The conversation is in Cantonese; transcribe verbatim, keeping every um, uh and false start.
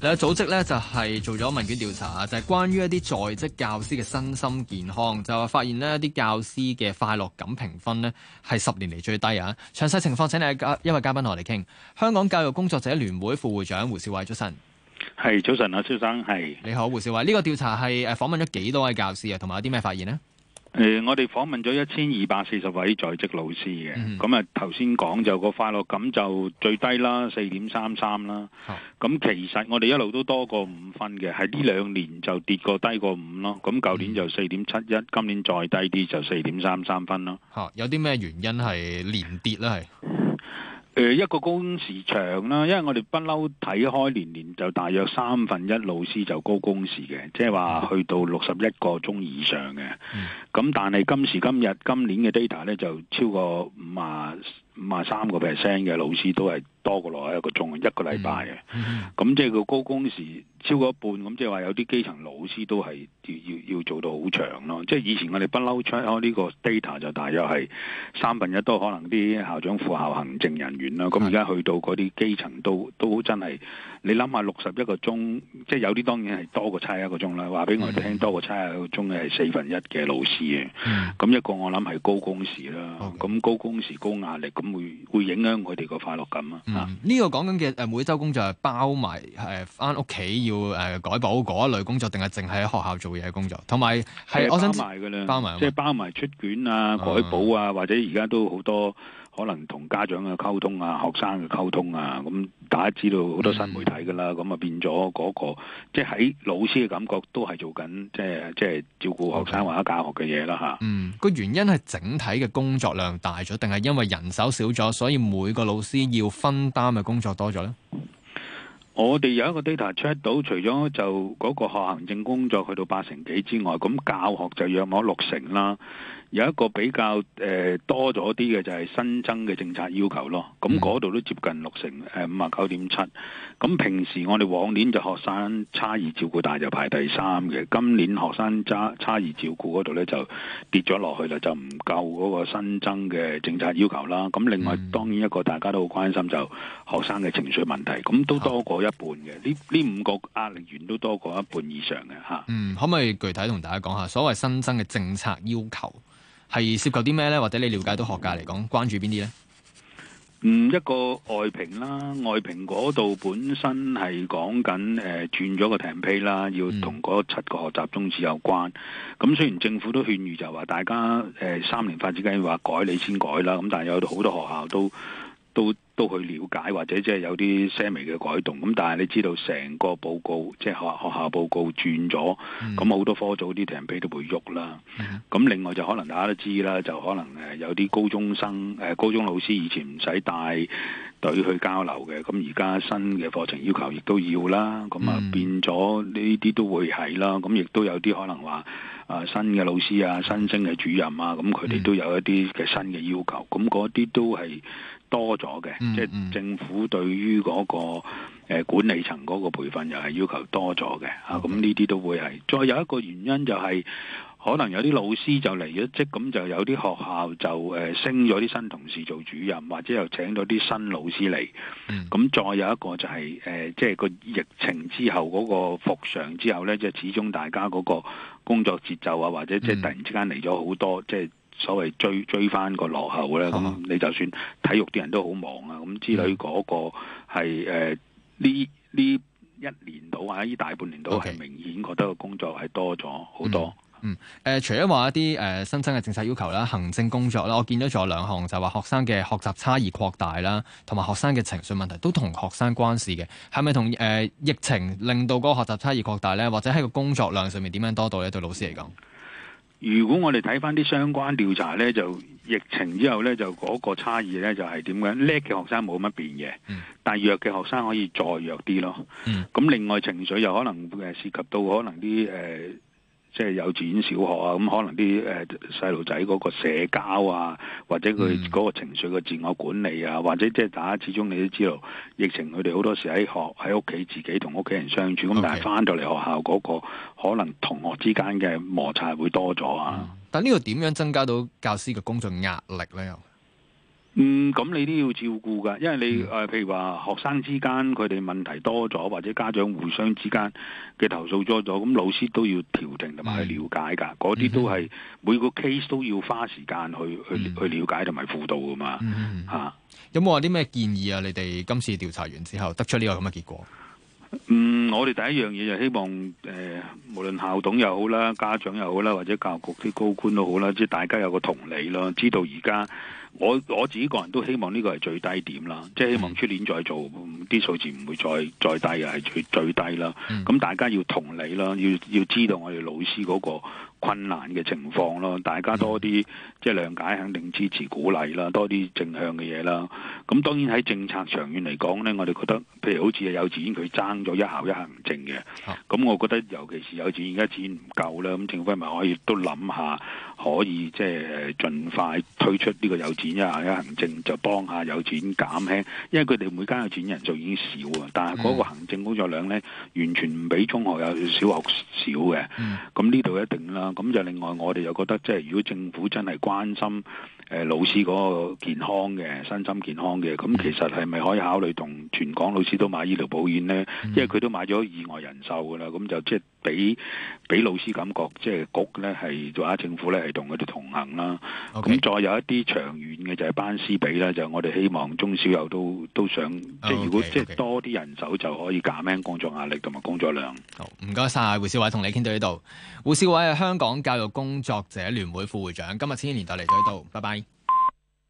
你嘅組織咧就係做咗問卷調查，就係關於一啲在職教師嘅身心健康，就係發現呢一啲教師嘅快樂感評分呢係十年嚟最低啊！詳細情況請你一位嘉賓同我哋傾。香港教育工作者聯會副會長胡兆偉，早晨。 係早晨啊，蕭生係。 你好，胡兆偉。呢、這個調查係誒訪問咗幾多位教師啊？同埋有啲咩發現呢？ 誒、呃，我哋訪問咗一千二百四十位在職老師嘅，咁啊頭先講就個快樂感就最低啦，四點三三啦。咁、哦、其實我哋一路都多過五分嘅，係呢兩年就跌過低過五咯。咁舊年就四點七一，今年再低啲就四點三三分咯。 嚇、哦，有啲咩原因係連跌咧？係？ 誒、呃，一個工時長啦，因為我哋不嬲睇開年年就大約三分一老師就高工時嘅，即係話去到六十一個鐘以上嘅。咁、嗯、但係今時今日今年嘅 data 咧就超過五啊五啊三個 percent 嘅老師都係多過落一個鐘一個禮拜嘅。咁、嗯嗯、即係個高工時超過一半，咁即係話有啲基層老師都係要要要做到好長咯。即係以前我哋不嬲出開呢個 data 就大約係三分一都可能啲校長、副校行政人員啦。咁而家去到嗰啲基層都都真係，你諗下六十一個鐘，即係有啲當然係多過差一個鐘啦。話俾我哋聽，多過差一個鐘嘅係四分一嘅老師嘅。咁、嗯、一個我諗係高工時啦。咁、okay. 高工時高壓力，咁會會影響佢哋個快樂感啊。呢、 嗯呢個講緊嘅誒每週工作係包埋誒返屋企要誒改補嗰一類工作，定係淨係喺學校做嘢嘅工作？同埋係我想包埋㗎啦， 包埋即係包埋出卷啊、改補啊，或者而家都好多可能同家長嘅溝通啊、學生嘅溝通啊。咁大家知道好多新媒體㗎啦，咁、嗯、啊變咗嗰、嗰個即係喺老師嘅感覺都係做緊即係即係照顧學生或者教學嘅嘢啦嚇。 嗯，個原因係整體嘅工作量大咗，定係因為人手少咗，所以每個老師要分擔嘅工作多咗咧？ 我哋有一個 data check 到，除咗就嗰個學行政工作去到八成幾之外，咁教學就約莫六成啦。有一個比較誒、呃、多咗啲嘅就係新增嘅政策要求咯。咁嗰度都接近六成誒五啊九點七。咁平時我哋往年就學生差異照顧大就排第三嘅，今年學生差差異照顧嗰度咧就跌咗落去啦，就唔夠嗰個新增嘅政策要求啦。咁另外、嗯、當然一個大家都好關心就學生嘅情緒問題，咁都多過一半嘅。呢呢五個壓力源都多過一半以上嘅嚇。 嗯，可唔可以具體同大家講下所謂新增嘅政策要求係涉及啲咩咧？或者你了解到學界嚟講關注邊啲咧？ 嗯，一個外評啦，外評嗰度本身係講緊誒轉咗個 template 啦，要同嗰七個學習宗旨有關。咁、嗯、雖然政府都勸喻就話大家誒、呃、三年發展計劃改你先改啦，咁但係有好多學校都都都去了解或者即係有啲些微嘅改動，咁但係你知道成個報告即係學學校報告轉咗，咁、嗯、好多科組啲 template 都會喐啦。咁、嗯、另外就可能大家都知啦，就可能誒有啲高中生誒高中老師以前唔使帶隊去交流嘅，咁而家新嘅課程要求亦都要啦，咁啊變咗呢啲都會係啦，咁亦都有啲可能話啊新嘅老師啊、新升嘅主任啊，咁佢哋都有一啲嘅新嘅要求，咁嗰啲都係多咗嘅，嗯嗯，即係政府對於嗰、那個誒、呃、管理層嗰個培訓又係要求多咗嘅，嚇咁呢啲都會係。再有一個原因就係、是、可能有啲老師就離咗職，咁就有啲學校就誒、呃、升咗啲新同事做主任，或者又請咗啲新老師嚟。咁、嗯、再有一個就係、是、誒、呃，即係個疫情之後嗰個復常之後咧，即係始終大家嗰個工作節奏啊，或者即係突然之間嚟咗好多即係。所謂追追翻個落後咧，咁、嗯、你就算體育啲人都好忙啊，咁之類嗰個係誒呢呢一年度或者呢大半年度係明顯覺得個工作係多咗好多。 嗯，誒、呃，除咗話一啲誒、呃、新增嘅政策要求啦、行政工作啦，我見到仲有兩項，就係話學生嘅學習差異擴大啦，同埋學生嘅情緒問題都同學生關事嘅，係咪同誒疫情令到嗰個學習差異擴大咧？或者喺個工作量上面點樣多到咧？對老師嚟講？ 如果我哋睇翻啲相關調查咧，就疫情之後咧，就嗰個差異咧就係點樣？叻嘅學生冇乜變嘅、嗯，但係弱嘅學生可以再弱啲咯。咁、嗯、另外情緒又可能誒涉及到可能啲誒。呃即係幼稚園、小學啊，咁可能啲誒細路仔嗰個社交啊，或者佢嗰個情緒嘅自我管理啊，或者即係大家始終你都知道，疫情佢哋好多時喺學喺屋企自己同屋企人相處，咁、okay. 但係翻到嚟學校嗰個可能同學之間嘅摩擦會多咗啊、嗯。 但呢個點樣增加到教師嘅工作壓力咧？ 嗯，咁你都要照顧噶，因為你誒、 嗯呃，譬如話學生之間佢哋問題多咗，或者家長互相之間嘅投訴多咗，咁老師都要調停同埋去了解噶，嗰啲、嗯、都係每個 case 都要花時間去去、嗯、去了解同埋輔導噶嘛， 嗯嗯吓、啊、 有冇話啲咩建議啊？你哋今次調查完之後得出呢個咁嘅結果？ 嗯，我哋第一樣嘢就希望誒、呃，無論校董又好啦，家長又好啦，或者教育局啲高官都好啦，即係大家有個同理咯，知道而家我我自己個人都希望呢個係最低點啦，即係希望出年再做啲數字唔會再再低嘅係最最低啦。咁、嗯、大家要同理啦，要要知道我哋老師嗰個困難嘅情況咯，大家多啲即係諒解、肯定、支持、鼓勵啦，多啲正向嘅嘢啦。咁當然喺政策長遠嚟講呢，我哋覺得譬如好似幼稚園佢爭咗一校一行政嘅，咁、啊、我覺得尤其是幼稚園而家錢唔夠啦，咁政府係咪可以都諗下可以即係盡快推出呢個幼稚園一校一行政，就幫下幼稚園減輕，因為佢哋每間幼稚園人數已經少啊，但係嗰個行政工作量呢，完全唔比中學有小學少嘅。咁呢度一定啦。咁就另外，我哋又覺得即係如果政府真係關心誒、呃、老師嗰個健康嘅身心健康嘅，咁其實係咪可以考慮同全港老師都買醫療保險呢？嗯、因為佢都買咗意外人壽噶啦，咁就即係俾俾老師感覺，即係局咧係或者政府咧係同佢哋同行啦。咁 Okay. 再有一啲長遠嘅就係班師比啦，就我哋希望中小幼都都想，即係如果 okay, okay. 即係多啲人手就可以減輕工作壓力同埋工作量。 好，唔該晒，胡兆偉，同你傾到呢度。胡兆偉係香港教育工作者聯會副會長，今日千禧年代嚟到呢度，拜拜。